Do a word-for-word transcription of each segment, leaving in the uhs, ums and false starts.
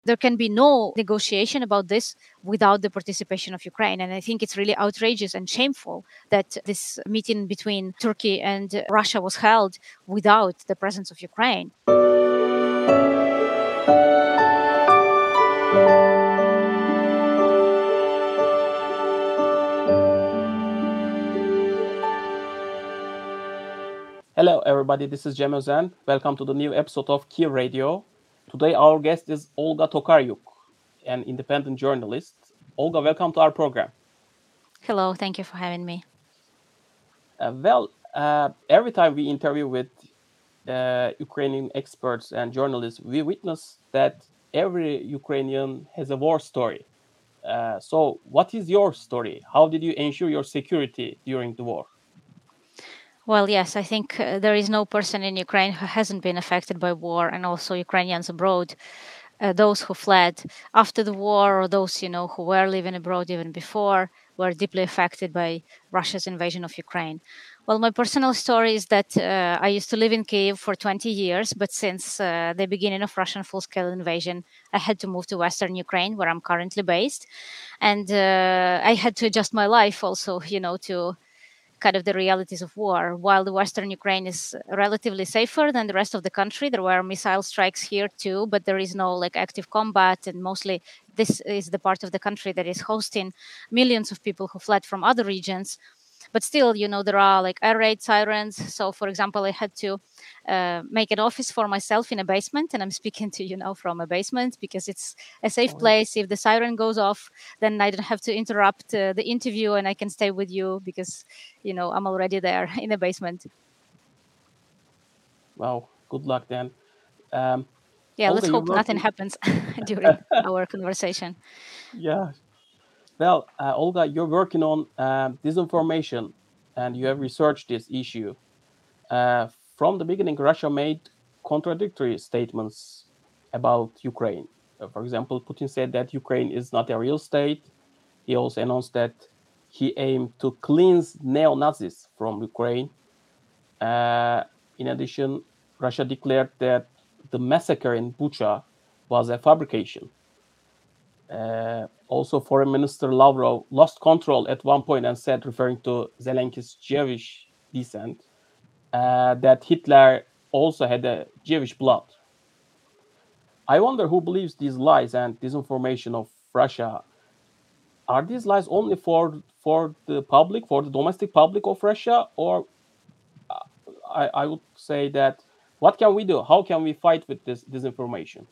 there can be no negotiation about this without the participation of Ukraine. And I think it's really outrageous and shameful that this meeting between Turkey and Russia was held without the presence of Ukraine. Hello, everybody. This is Cem Özen. Welcome to the new episode of Kyiv Radio. Today, our guest is Olga Tokaryuk, an independent journalist. Olga, welcome to our program. Hello, thank you for having me. Uh, well, uh, every time we interview with uh, Ukrainian experts and journalists, we witness that every Ukrainian has a war story. Uh, so, what is your story? How did you ensure your security during the war? Well, yes, I think uh, there is no person in Ukraine who hasn't been affected by war, and also Ukrainians abroad, uh, those who fled after the war or those, you know, who were living abroad even before, were deeply affected by Russia's invasion of Ukraine. Well, my personal story is that uh, I used to live in Kyiv for twenty years, but since uh, the beginning of Russian full-scale invasion, I had to move to Western Ukraine, where I'm currently based. And uh, I had to adjust my life also, you know, to kind of the realities of war. While the Western Ukraine is relatively safer than the rest of the country, there were missile strikes here too, but there is no like active combat. And mostly this is the part of the country that is hosting millions of people who fled from other regions. But still, you know, there are like air raid sirens. So, for example, I had to uh, make an office for myself in a basement, and I'm speaking to you now from a basement because it's a safe Oh, place. If the siren goes off, then I don't have to interrupt uh, the interview, and I can stay with you because, you know, I'm already there in the basement. Wow, good luck then. Um, Yeah, Olga, let's you're hope nothing working. happens during our conversation. Yeah. Well, uh, Olga, you're working on uh, disinformation and you have researched this issue. Uh, from the beginning, Russia made contradictory statements about Ukraine. Uh, for example, Putin said that Ukraine is not a real state. He also announced that he aimed to cleanse neo Nazis from Ukraine. Uh, in addition, Russia declared that the massacre in Bucha was a fabrication. Uh, also, Foreign Minister Lavrov lost control at one point and said, referring to Zelensky's Jewish descent, uh, that Hitler also had a Jewish blood. I wonder who believes these lies and disinformation of Russia. Are these lies only for for the public, for the domestic public of Russia, or uh, I, I would say that what can we do? How can we fight with this disinformation?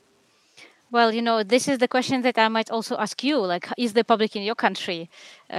Well, you know, this is the question that I might also ask you. Like, is the public in your country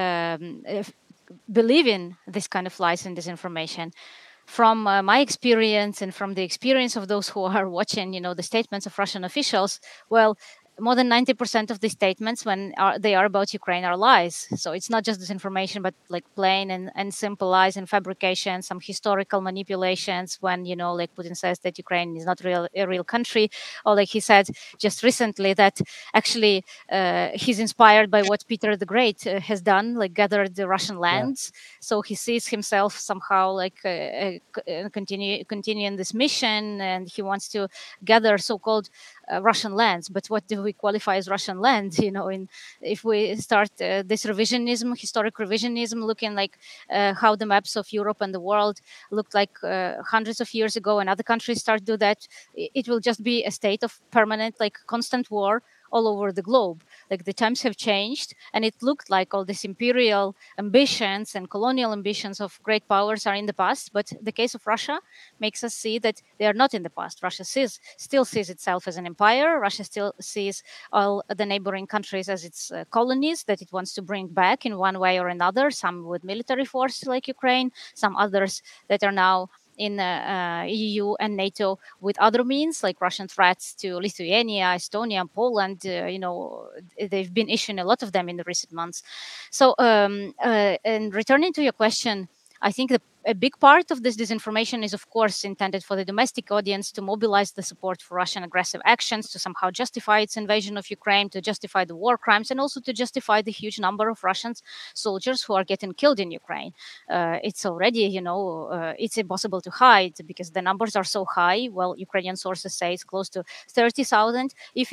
um, if, believing this kind of lies and disinformation? From uh, my experience and from the experience of those who are watching, you know, the statements of Russian officials, well, more than ninety percent of the statements when are, they are about Ukraine are lies. So it's not just disinformation, but like plain and, and simple lies and fabrication, some historical manipulations when, you know, like Putin says that Ukraine is not real, a real country, or like he said just recently that actually uh, he's inspired by what Peter the Great uh, has done, like gathered the Russian Yeah. lands. So he sees himself somehow like uh, uh, c- uh, continue continuing this mission, and he wants to gather so-called uh, Russian lands. But what do we qualify as Russian land? You know, in if we start uh, this revisionism, historic revisionism, looking like uh, how the maps of Europe and the world looked like uh, hundreds of years ago, and other countries start to do that, i- it will just be a state of permanent, like constant war all over the globe. Like the times have changed, and it looked like all these imperial ambitions and colonial ambitions of great powers are in the past. But the case of Russia makes us see that they are not in the past. Russia sees, still sees itself as an empire. Russia still sees all the neighboring countries as its uh, colonies that it wants to bring back in one way or another, some with military force like Ukraine, some others that are now in uh, uh, E U and NATO with other means, like Russian threats to Lithuania, Estonia, Poland. Uh, you know, they've been issuing a lot of them in the recent months. So, um, uh, and returning to your question, I think the a big part of this disinformation is, of course, intended for the domestic audience to mobilize the support for Russian aggressive actions, to somehow justify its invasion of Ukraine, to justify the war crimes, and also to justify the huge number of Russian soldiers who are getting killed in Ukraine. Uh, it's already, you know, uh, it's impossible to hide because the numbers are so high. Well, Ukrainian sources say it's close to thirty thousand. If it's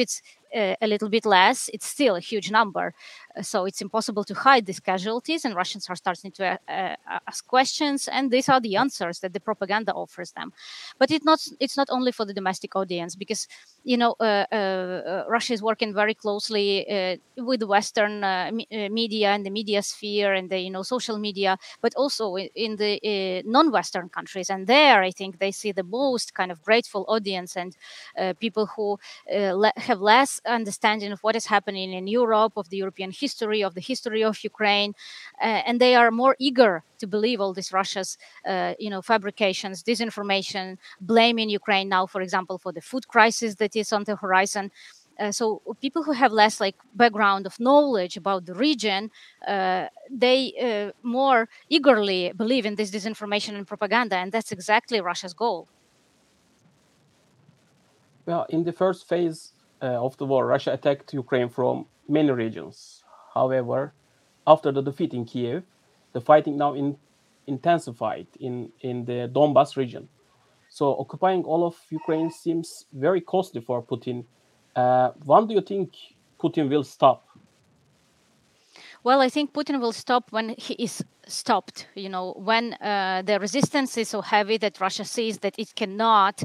uh, a little bit less, it's still a huge number. Uh, So it's impossible to hide these casualties, and Russians are starting to uh, uh, ask questions, and these are the answers that the propaganda offers them. But it's not it's not only for the domestic audience, because you know uh, uh, uh, Russia is working very closely uh, with the Western uh, me- uh, media and the media sphere and the you know social media, but also in, in the uh, non-Western countries. And there, I think they see the most kind of grateful audience and uh, people who uh, le- have less understanding of what is happening in Europe, of the European history, of the history of Ukraine, uh, and they are more eager to believe all this Russia's, uh, you know, fabrications, disinformation, blaming Ukraine now, for example, for the food crisis that is on the horizon. Uh, so people who have less like background of knowledge about the region, uh, they uh, more eagerly believe in this disinformation and propaganda, and that's exactly Russia's goal. Well, in the first phase uh, of the war, Russia attacked Ukraine from many regions. However, after the defeat in Kiev, the fighting now in, intensified in, in the Donbas region. So occupying all of Ukraine seems very costly for Putin. Uh, when do you think Putin will stop? Well, I think Putin will stop when he is stopped. You know, when uh, the resistance is so heavy that Russia sees that it cannot,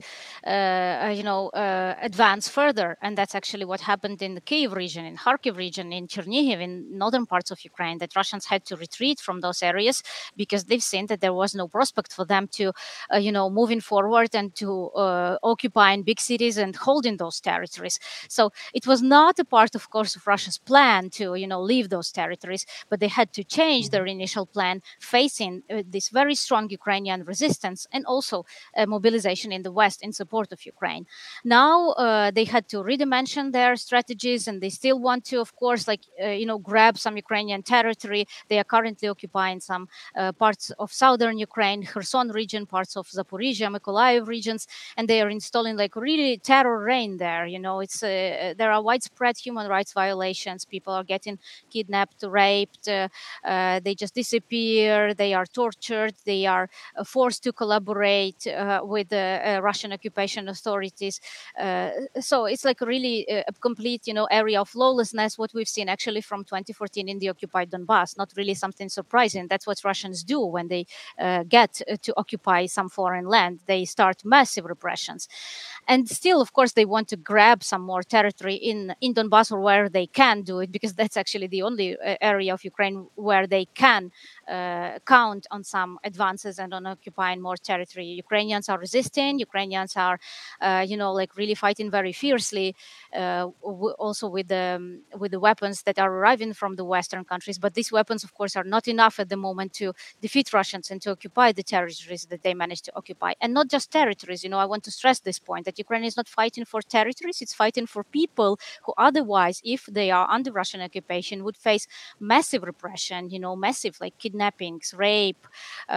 uh, you know, uh, advance further, and that's actually what happened in the Kiev region, in Kharkiv region, in Chernihiv, in northern parts of Ukraine. That Russians had to retreat from those areas because they've seen that there was no prospect for them to, uh, you know, moving forward and to uh, occupying big cities and holding those territories. So it was not a part, of course, of Russia's plan to, you know, leave those territories, but they had to change their initial plan, facing uh, this very strong Ukrainian resistance and also uh, mobilization in the West in support of Ukraine. Now uh, they had to redimension their strategies, and they still want to, of course, like uh, you know, grab some Ukrainian territory. They are currently occupying some uh, parts of southern Ukraine, Kherson region, parts of Zaporizhia, Mykolaiv regions, and they are installing like really terror reign there. You know, it's uh, there are widespread human rights violations. People are getting kidnapped, raped. Uh, uh, they just disappear. They are tortured. They are uh, forced to collaborate uh, with the uh, Russian occupation authorities. Uh, so it's like really a, a complete, you know, area of lawlessness. What we've seen actually from twenty fourteen in the occupied Donbass. Not really something surprising. That's what Russians do when they uh, get uh, to occupy some foreign land. They start massive repressions. And still, of course, they want to grab some more territory in, in Donbass or where they can do it, because that's actually the only uh, area of Ukraine where they can uh, count on some advances and on occupying more territory. Ukrainians are resisting. Ukrainians are, uh, you know, like really fighting very fiercely, uh, w- also with the um, with the weapons that are arriving from the Western countries. But these weapons, of course, are not enough at the moment to defeat Russians and to occupy the territories that they managed to occupy. And not just territories. You know, I want to stress this point that Ukraine is not fighting for territories; it's fighting for people who otherwise, if they are under Russian occupation, would face massive repression. You know, massive like kidnappings, rape, uh,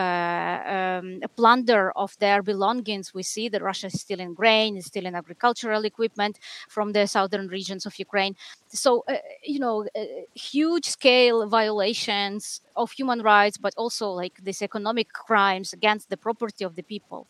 um, plunder of their belongings. We see that Russia is stealing grain, is stealing agricultural equipment from the southern regions of Ukraine. So, uh, you know, uh, huge scale violations of human rights, but also like these economic crimes against the property of the people.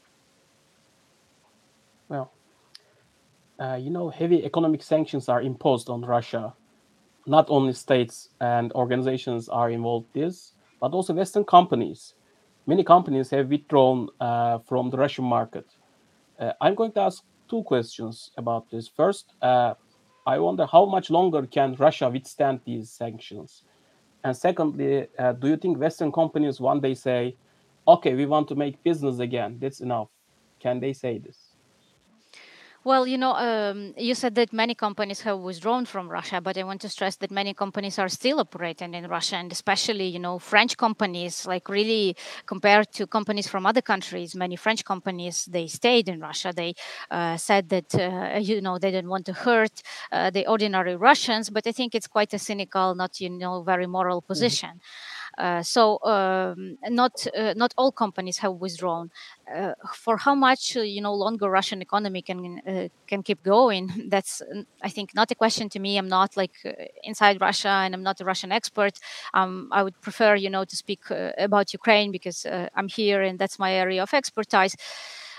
Well, uh, you know, heavy economic sanctions are imposed on Russia. Not only states and organizations are involved in this, but also Western companies. Many companies have withdrawn uh, from the Russian market. Uh, I'm going to ask two questions about this. First, uh, I wonder how much longer can Russia withstand these sanctions? And secondly, uh, do you think Western companies one day say, okay, we want to make business again, that's enough? Can they say this? Well, you know, um, you said that many companies have withdrawn from Russia, but I want to stress that many companies are still operating in Russia, and especially, you know, French companies, like really compared to companies from other countries, many French companies, they stayed in Russia. They uh, said that, uh, you know, they didn't want to hurt uh, the ordinary Russians, but I think it's quite a cynical, not, you know, very moral Mhm. position. Uh, so um, not uh, not all companies have withdrawn. Uh, for how much uh, you know longer Russian economy can uh, can keep going? That's uh, I think not a question to me. I'm not like uh, inside Russia, and I'm not a Russian expert. Um, I would prefer you know to speak uh, about Ukraine because uh, I'm here and that's my area of expertise.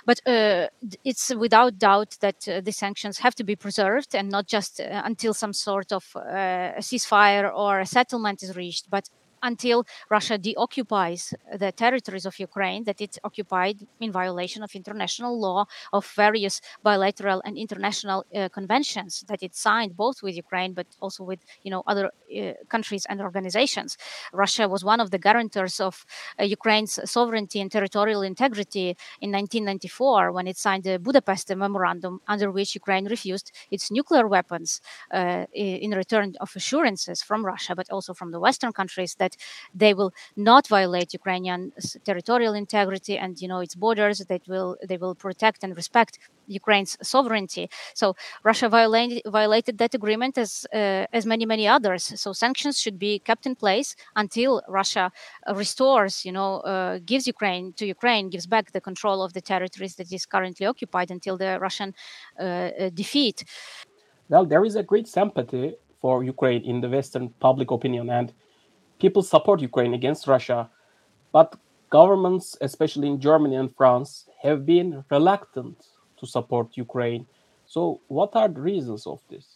But uh, it's without doubt that uh, the sanctions have to be preserved, and not just uh, until some sort of uh, a ceasefire or a settlement is reached, but until Russia deoccupies the territories of Ukraine that it occupied in violation of international law, of various bilateral and international uh, conventions that it signed, both with Ukraine but also with, you know, other uh, countries and organizations. Russia was one of the guarantors of uh, Ukraine's sovereignty and territorial integrity in nineteen ninety-four, when it signed the Budapest Memorandum, under which Ukraine refused its nuclear weapons uh, in return of assurances from Russia, but also from the Western countries, that they will not violate Ukrainian territorial integrity and, you know, its borders. That will they will protect and respect Ukraine's sovereignty. So Russia violated violated that agreement, as uh, as many many others. So sanctions should be kept in place until Russia uh, restores, you know, uh, gives Ukraine to Ukraine, gives back the control of the territories that is currently occupied, until the Russian uh, uh, defeat. Well, there is a great sympathy for Ukraine in the Western public opinion, and people support Ukraine against Russia. But governments, especially in Germany and France, have been reluctant to support Ukraine. So, what are the reasons of this?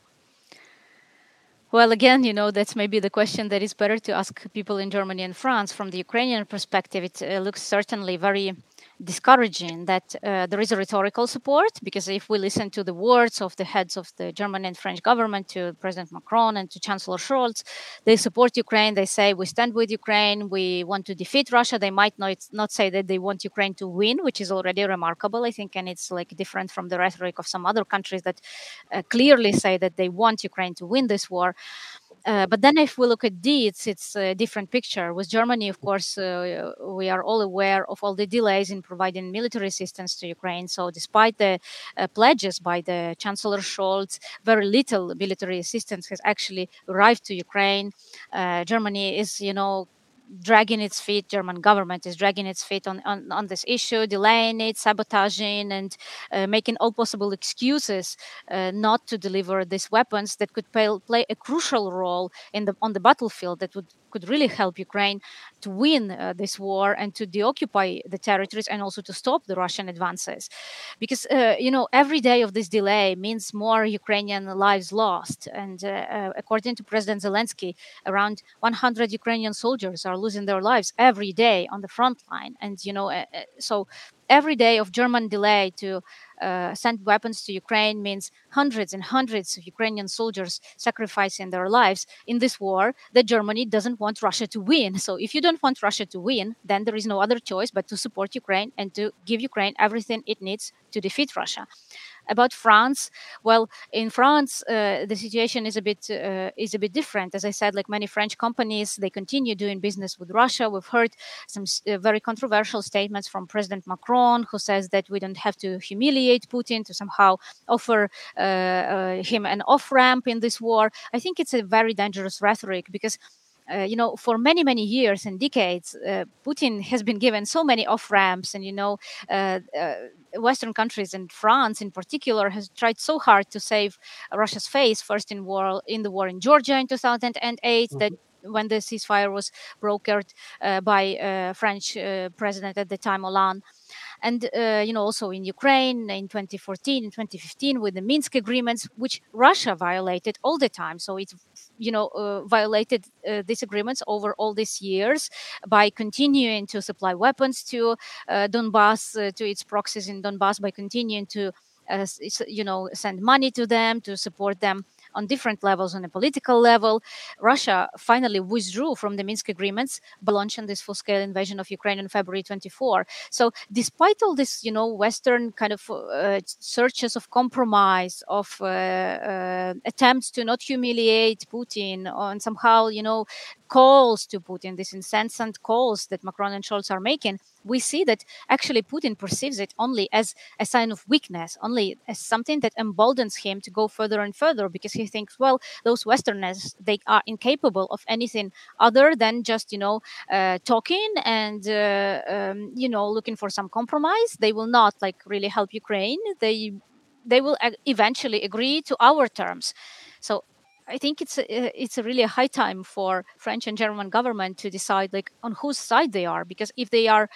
Well, again, you know, that's maybe the question that is better to ask people in Germany and France. From the Ukrainian perspective, it uh, looks certainly very discouraging that uh, there is a rhetorical support, because if we listen to the words of the heads of the German and French government, to President Macron and to Chancellor Scholz, they support Ukraine. They say, we stand with Ukraine. We want to defeat Russia. They might not, not say that they want Ukraine to win, which is already remarkable, I think. And it's like different from the rhetoric of some other countries that uh, clearly say that they want Ukraine to win this war. Uh, but then if we look at deeds, it's a different picture. With Germany, of course, uh, we are all aware of all the delays in providing military assistance to Ukraine. So despite the uh, pledges by the Chancellor Scholz, very little military assistance has actually arrived to Ukraine. Uh, Germany is, you know, dragging its feet. German government is dragging its feet on, on, on this issue, delaying it, sabotaging, and uh, making all possible excuses uh, not to deliver these weapons that could play, play a crucial role in the on the battlefield, that would could really help Ukraine to win uh, this war and to deoccupy the territories, and also to stop the Russian advances. Because, uh, you know, every day of this delay means more Ukrainian lives lost. And uh, uh, according to President Zelensky, around one hundred Ukrainian soldiers are losing their lives every day on the front line. And, you know, uh, uh, so every day of German delay to uh, send weapons to Ukraine means hundreds and hundreds of Ukrainian soldiers sacrificing their lives in this war that Germany doesn't want Russia to win. So if you don't want Russia to win, then there is no other choice but to support Ukraine and to give Ukraine everything it needs to defeat Russia. About France, well, in France, uh, the situation is a bit uh, is a bit different. As I said, like many French companies, they continue doing business with Russia. We've heard some uh, very controversial statements from President Macron, who says that we don't have to humiliate Putin to somehow offer uh, uh, him an off ramp in this war. I think it's a very dangerous rhetoric, because uh, you know, for many, many years and decades, uh, Putin has been given so many off ramps, and you know, uh, uh, Western countries and France in particular has tried so hard to save Russia's face. First in war, in the war in Georgia in two thousand eight, mm-hmm. that when the ceasefire was brokered uh, by uh, French uh, president at the time, Hollande. And, uh, you know, also in Ukraine in twenty fourteen and twenty fifteen with the Minsk agreements, which Russia violated all the time. So it, you know, uh, violated uh, these agreements over all these years by continuing to supply weapons to uh, Donbass, uh, to its proxies in Donbass, by continuing to, uh, you know, send money to them, to support them on different levels. On a political level, Russia finally withdrew from the Minsk agreements by launching this full-scale invasion of Ukraine in February twenty-fourth. So despite all this, you know, Western kind of uh, searches of compromise, of uh, uh, attempts to not humiliate Putin, and somehow, you know, calls to Putin, these incessant calls that Macron and Scholz are making, we see that actually Putin perceives it only as a sign of weakness, only as something that emboldens him to go further and further, because he thinks, well, those Westerners, they are incapable of anything other than just, you know, uh, talking and, uh, um, you know, looking for some compromise. They will not like really help Ukraine. They, they will eventually agree to our terms. So I think it's a, it's a really a high time for French and German government to decide like on whose side they are, because if they are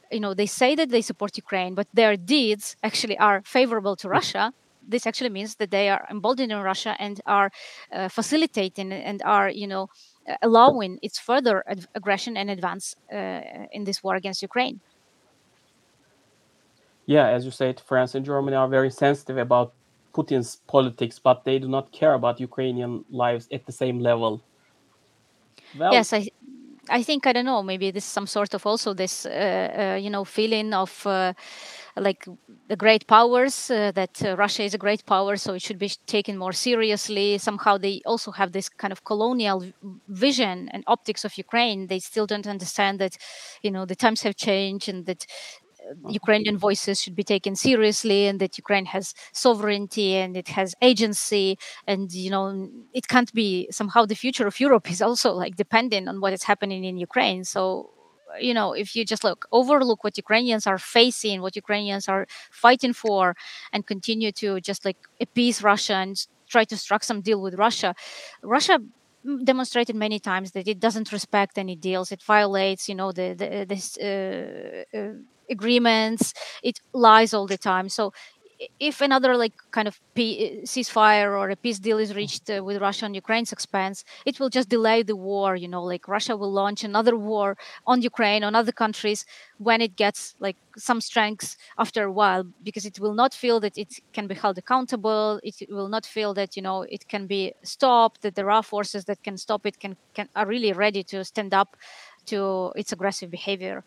you know, they say that they support Ukraine, but their deeds actually are favorable to Russia, this actually means that they are emboldening Russia and are uh, facilitating and are, you know, uh, allowing its further ad- aggression and advance uh, in this war against Ukraine. Yeah, as you said, France and Germany are very sensitive about Putin's politics, but they do not care about Ukrainian lives at the same level. Well, Yes, I I think, I don't know, maybe this some sort of also this uh, uh, you know, feeling of uh, like the great powers, uh, that uh, Russia is a great power, so it should be taken more seriously. Somehow they also have this kind of colonial v- vision and optics of Ukraine. They still don't understand that, you know, the times have changed and that Ukrainian voices should be taken seriously, and that Ukraine has sovereignty and it has agency, and, you know, it can't be somehow the future of Europe is also like dependent on what is happening in Ukraine. So, you know, if you just look overlook what Ukrainians are facing, what Ukrainians are fighting for, and continue to just like appease Russia and s- try to strike some deal with Russia, Russia mm, demonstrated many times that it doesn't respect any deals. It violates, you know, the the this uh, uh, agreements. It lies all the time. So i- if another like kind of pe- ceasefire or a peace deal is reached uh, with Russia on Ukraine's expense, it will just delay the war. You know, like Russia will launch another war on Ukraine, on other countries, when it gets like some strength after a while, because it will not feel that it can be held accountable. It will not feel that, you know, it can be stopped, that there are forces that can stop it, can, can are really ready to stand up to its aggressive behavior.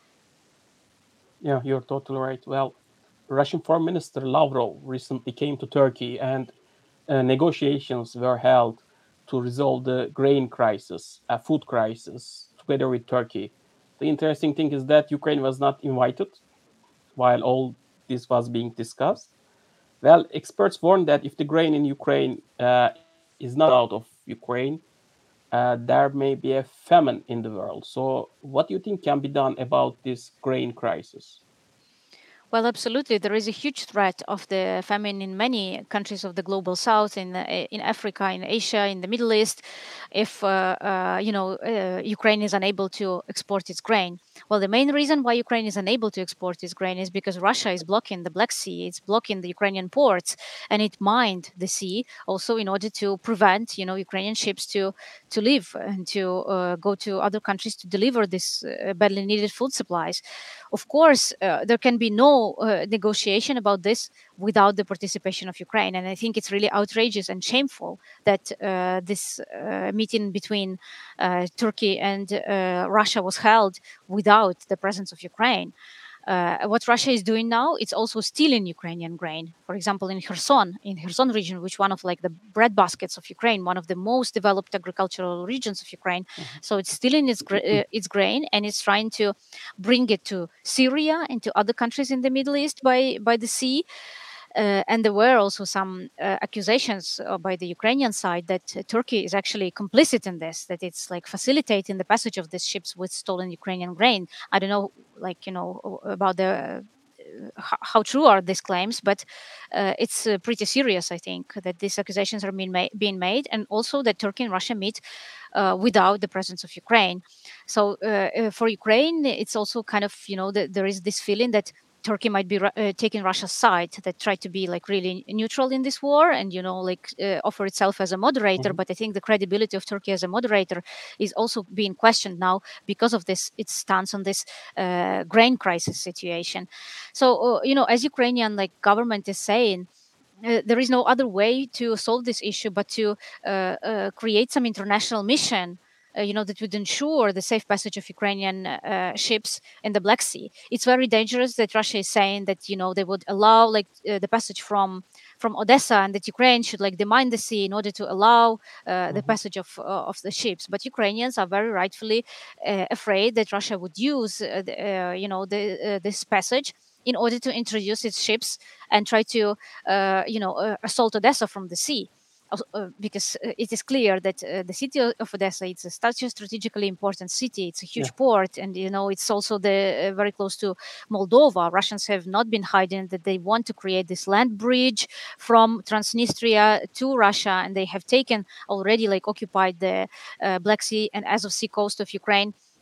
yeah, you're totally right. Well, Russian Foreign Minister Lavrov recently came to Turkey, and uh, negotiations were held to resolve the grain crisis, a food crisis, together with Turkey. The interesting thing is that Ukraine was not invited while all this was being discussed. Well, experts warn that if the grain in Ukraine uh, is not out of Ukraine, uh, there may be a famine in the world. So, what do you think can be done about this grain crisis? Well, absolutely. There is a huge threat of the famine in many countries of the global south, in uh, in Africa, in Asia, in the Middle East, if uh, uh, you know, uh, Ukraine is unable to export its grain. Well, the main reason why Ukraine is unable to export its grain is because Russia is blocking the Black Sea. It's blocking the Ukrainian ports, and it mined the sea also in order to prevent, you know, Ukrainian ships to to leave and to uh, go to other countries to deliver this uh, badly needed food supplies. Of course, uh, there can be no uh, negotiation about this without the participation of Ukraine. And I think it's really outrageous and shameful that uh, this uh, meeting between uh, Turkey and uh, Russia was held without the presence of Ukraine. Uh, what Russia is doing now, it's also stealing Ukrainian grain. For example, in Kherson, in Kherson region, which one of like the bread baskets of Ukraine, one of the most developed agricultural regions of Ukraine. Mhm. So it's stealing its gra- uh, its grain, and it's trying to bring it to Syria and to other countries in the Middle East by by the sea. Uh, and there were also some uh, accusations uh, by the Ukrainian side that uh, Turkey is actually complicit in this, that it's like facilitating the passage of these ships with stolen Ukrainian grain. I don't know, like, you know, about the uh, how, how true are these claims, but uh, it's uh, pretty serious, I think, that these accusations are being, ma- being made, and also that Turkey and Russia meet uh, without the presence of Ukraine. So uh, uh, for Ukraine, it's also kind of, you know, the, there is this feeling that Turkey might be Ru- uh, taking Russia's side, that try to be like really neutral in this war and, you know, like uh, offer itself as a moderator. Mhm. But I think the credibility of Turkey as a moderator is also being questioned now because of this its stance on this uh, grain crisis situation. So uh, you know, as Ukrainian like government is saying, uh, there is no other way to solve this issue but to uh, uh, create some international mission, uh, you know, that would ensure the safe passage of Ukrainian uh, ships in the Black Sea. It's very dangerous that Russia is saying that, you know, they would allow like uh, the passage from from Odessa, and that Ukraine should like demine the sea in order to allow uh, the Mhm. passage of uh, of the ships. But Ukrainians are very rightfully uh, afraid that Russia would use uh, the, uh, you know, the, uh, this passage in order to introduce its ships and try to uh, you know, uh, assault Odessa from the sea. Als- Uh, because uh, it is clear that uh, the city o- of Odessa, it's a such a strategically important city. It's a Yeah. huge port, and, you know, it's also the uh, very close to Moldova. Russians have not been hiding that they want to create this land bridge from Transnistria to Russia, and they have taken already like occupied the uh, Black Sea and Azov Sea coast of Ukraine.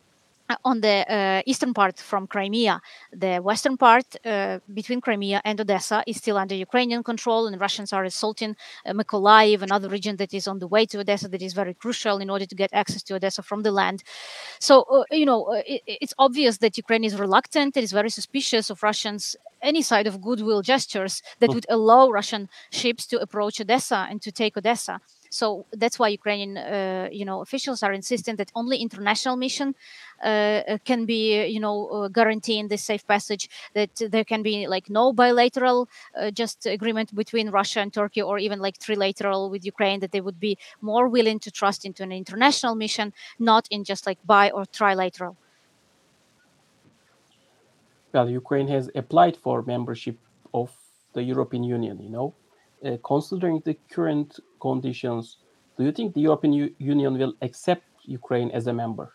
uh, on the uh, eastern part from Crimea. The western part uh, between Crimea and Odessa is still under Ukrainian control, and Russians are assaulting uh, Mykolaiv, another region that is on the way to Odessa that is very crucial in order to get access to Odessa from the land. So, uh, you know, uh, it, it's obvious that Ukraine is reluctant, it is very suspicious of Russians. Any side of goodwill gestures that would allow Russian ships to approach Odessa and to take Odessa. So that's why Ukrainian, uh, you know, officials are insisting that only international mission uh, can be, you know, uh, guaranteeing the safe passage. That there can be like no bilateral, uh, just agreement between Russia and Turkey, or even like trilateral with Ukraine. That they would be more willing to trust into an international mission, not in just like bi or trilateral. Well, Ukraine has applied for membership of the European Union, you know. Uh, considering the current conditions, do you think the European U- Union will accept Ukraine as a member?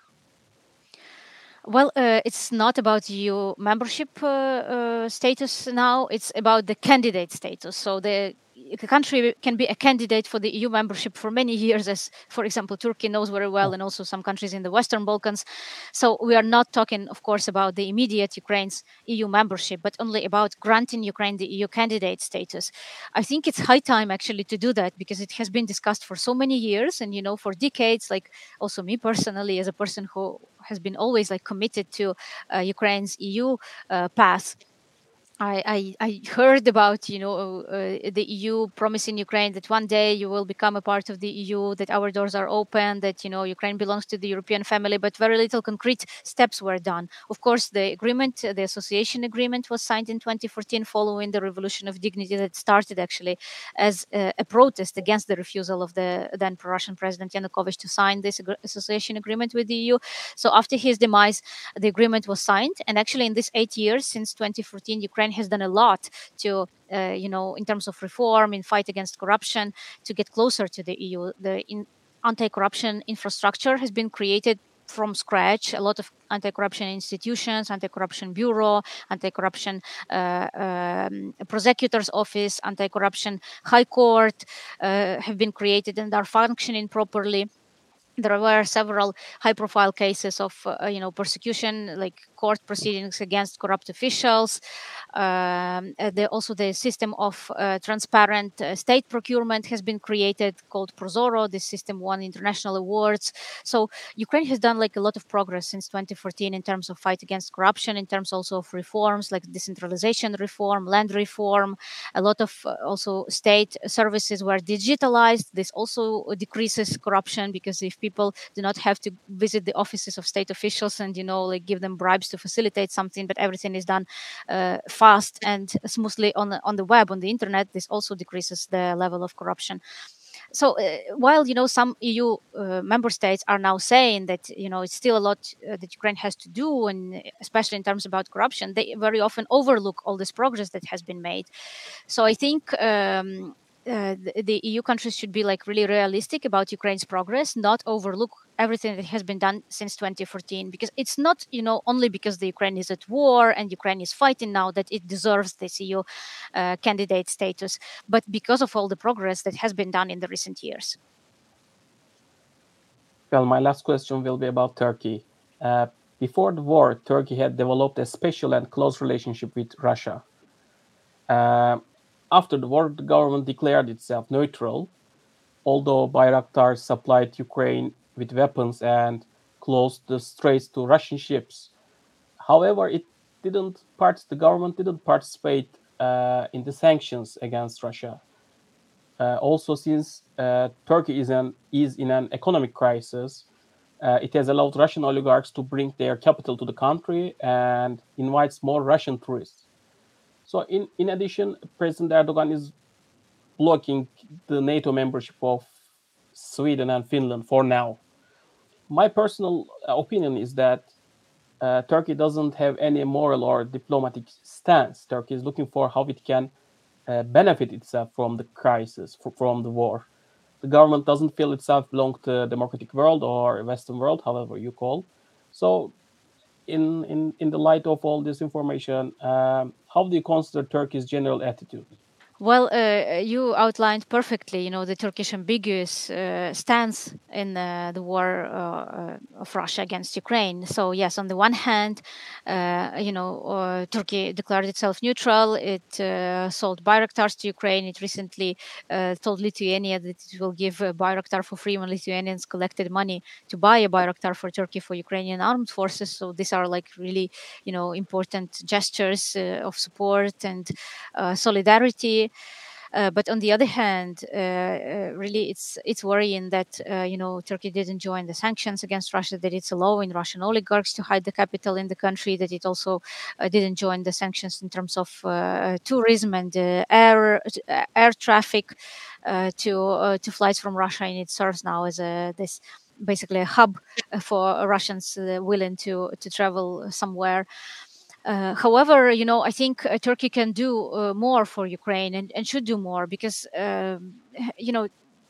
Well, uh, it's not about E U membership uh, uh, status now. It's about the candidate status. So the the country can be a candidate for the E U membership for many years, as, for example, Turkey knows very well, and also some countries in the Western Balkans. So we are not talking, of course, about the immediate Ukraine's E U membership, but only about granting Ukraine the E U candidate status. I think it's high time actually to do that, because it has been discussed for so many years, and you know, for decades. Like also me personally, as a person who has been always like committed to uh, Ukraine's E U uh, path. I, I, I heard about, you know, uh, the E U promising Ukraine that one day you will become a part of the E U, that our doors are open, that, you know, Ukraine belongs to the European family, but very little concrete steps were done. Of course, the agreement, uh, the association agreement was signed in twenty fourteen following the Revolution of Dignity that started actually as uh, a protest against the refusal of the then pro-Russian President Yanukovych to sign this ag- association agreement with the E U. So after his demise, the agreement was signed. And actually, in these eight years since twenty fourteen, Ukraine has done a lot to, uh, you know, in terms of reform, in fight against corruption, to get closer to the E U. The in, anti-corruption infrastructure has been created from scratch. A lot of anti-corruption institutions, anti-corruption bureau, anti-corruption uh, um, prosecutor's office, anti-corruption high court uh, have been created and are functioning properly. There were several high-profile cases of, uh, you know, persecution, like court proceedings against corrupt officials. Um, uh, the, also, the system of uh, transparent uh, state procurement has been created, called Prozoro. This system won international awards. So Ukraine has done like a lot of progress since twenty fourteen in terms of fight against corruption, in terms also of reforms like decentralization reform, land reform. A lot of uh, also state services were digitalized. This also decreases corruption, because if people do not have to visit the offices of state officials and, you know, like give them bribes to facilitate something, but everything is done uh, fast and smoothly on the, on the web, on the internet, this also decreases the level of corruption. So uh, while, you know, some E U uh, member states are now saying that, you know, it's still a lot uh, that Ukraine has to do, and especially in terms about corruption, they very often overlook all this progress that has been made. So I think um, uh, the, the E U countries should be like really realistic about Ukraine's progress, not overlook everything that has been done since twenty fourteen, because it's not, you know, only because the Ukraine is at war and Ukraine is fighting now that it deserves this E U uh, candidate status, but because of all the progress that has been done in the recent years. Well, my last question will be about Turkey. Uh, before the war, Turkey had developed a special and close relationship with Russia. Uh, after the war, the government declared itself neutral, although Bayraktar supplied Ukraine with weapons and closed the straits to Russian ships. However, it didn't part, the government didn't participate uh, in the sanctions against Russia. Uh, also, since uh, Turkey is, an, is in an economic crisis, uh, it has allowed Russian oligarchs to bring their capital to the country and invites more Russian tourists. So, in, in addition, President Erdogan is blocking the NATO membership of Sweden and Finland for now. My personal opinion is that uh, Turkey doesn't have any moral or diplomatic stance. Turkey is looking for how it can uh, benefit itself from the crisis, from the war. The government doesn't feel itself belong to the democratic world or Western world, however you call. So, in in in the light of all this information, um, how do you consider Turkey's general attitude? Well, uh, you outlined perfectly, you know, the Turkish ambiguous uh, stance in uh, the war uh, uh, of Russia against Ukraine. So, yes, on the one hand, uh, you know, uh, Turkey declared itself neutral. It uh, sold Bayraktars to Ukraine. It recently uh, told Lithuania that it will give a Bayraktar for free when Lithuanians collected money to buy a Bayraktar for Turkey for Ukrainian armed forces. So these are like really, you know, important gestures uh, of support and uh, solidarity. Uh, but on the other hand, uh, uh, really, it's it's worrying that uh, you know Turkey didn't join the sanctions against Russia. That it's allowing Russian oligarchs to hide the capital in the country. That it also uh, didn't join the sanctions in terms of uh, tourism and uh, air uh, air traffic uh, to uh, to flights from Russia, and it serves now as a this basically a hub for Russians uh, willing to to travel somewhere. Uh, however, you know, I think uh, Turkey can do uh, more for Ukraine and, and should do more because, um, you know,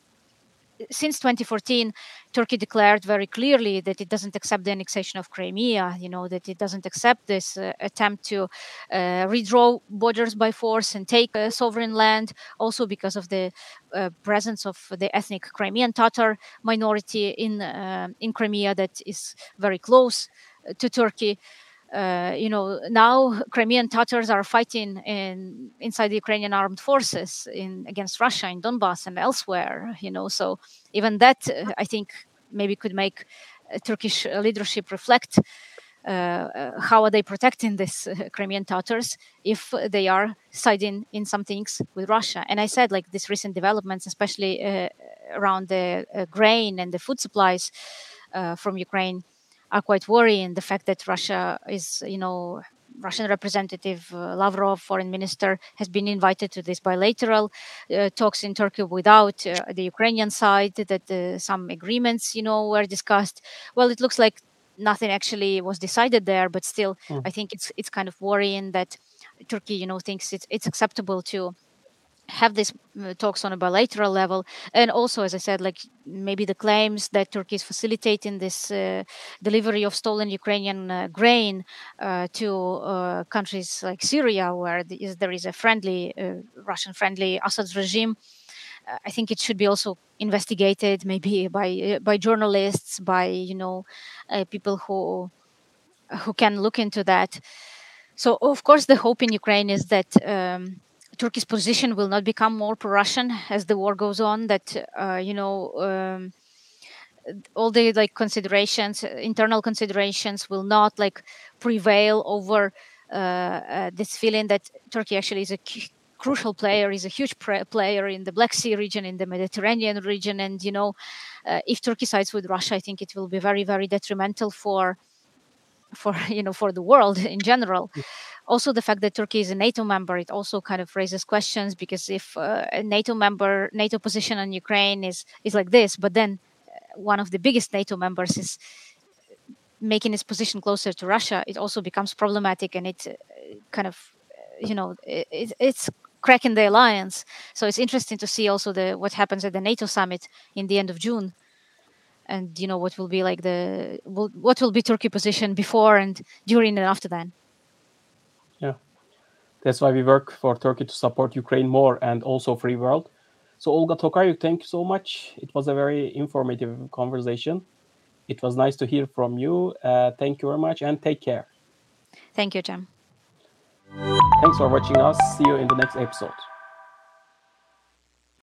since twenty fourteen, Turkey declared very clearly that it doesn't accept the annexation of Crimea, you know, that it doesn't accept this uh, attempt to uh, redraw borders by force and take uh, sovereign land, also because of the uh, presence of the ethnic Crimean Tatar minority in, uh, in Crimea that is very close to Turkey. Uh, you know, now Crimean Tatars are fighting in inside the Ukrainian armed forces in against Russia in Donbass and elsewhere. You know, so even that uh, I think maybe could make uh, Turkish leadership reflect uh, uh, how are they protecting this uh, Crimean Tatars if they are siding in some things with Russia. And I said like these recent developments, especially uh, around the uh, grain and the food supplies uh, from Ukraine, are quite worrying. The fact that Russia is, you know, Russian representative uh, Lavrov, foreign minister, has been invited to this bilateral uh, talks in Turkey without uh, the Ukrainian side, that uh, some agreements, you know, were discussed. Well, it looks like nothing actually was decided there, but still, Mm. I think it's it's kind of worrying that Turkey, you know, thinks it's it's acceptable to have these uh, talks on a bilateral level. And also, as I said, like maybe the claims that Turkey is facilitating this uh, delivery of stolen Ukrainian uh, grain uh, to uh, countries like Syria, where the, is, there is a friendly, uh, Russian friendly Assad regime. uh, I think it should be also investigated, maybe by uh, by journalists, by you know uh, people who who can look into that. So, of course, the hope in Ukraine is that um, Turkey's position will not become more pro-Russian as the war goes on. That uh, you know, um, all the like considerations, internal considerations, will not like prevail over uh, uh, this feeling that Turkey actually is a c- crucial player, is a huge pre- player in the Black Sea region, in the Mediterranean region, and you know, uh, if Turkey sides with Russia, I think it will be very, very detrimental for for you know for the world in general. Also, the fact that Turkey is a NATO member, it also kind of raises questions, because if uh, a NATO member, NATO position on Ukraine is is like this, but then uh, one of the biggest NATO members is making its position closer to Russia, it also becomes problematic, and it uh, kind of uh, you know it, it's cracking the alliance. So it's interesting to see also the what happens at the NATO summit in the end of June, and you know what will be like the what will be Turkey position before and during and after that. Yeah, that's why we work for Turkey to support Ukraine more and also free world. So Olga Tokaryuk, thank you so much. It was a very informative conversation. It was nice to hear from you. Uh, thank you very much and take care. Thank you, Cem. Thanks for watching us. See you in the next episode.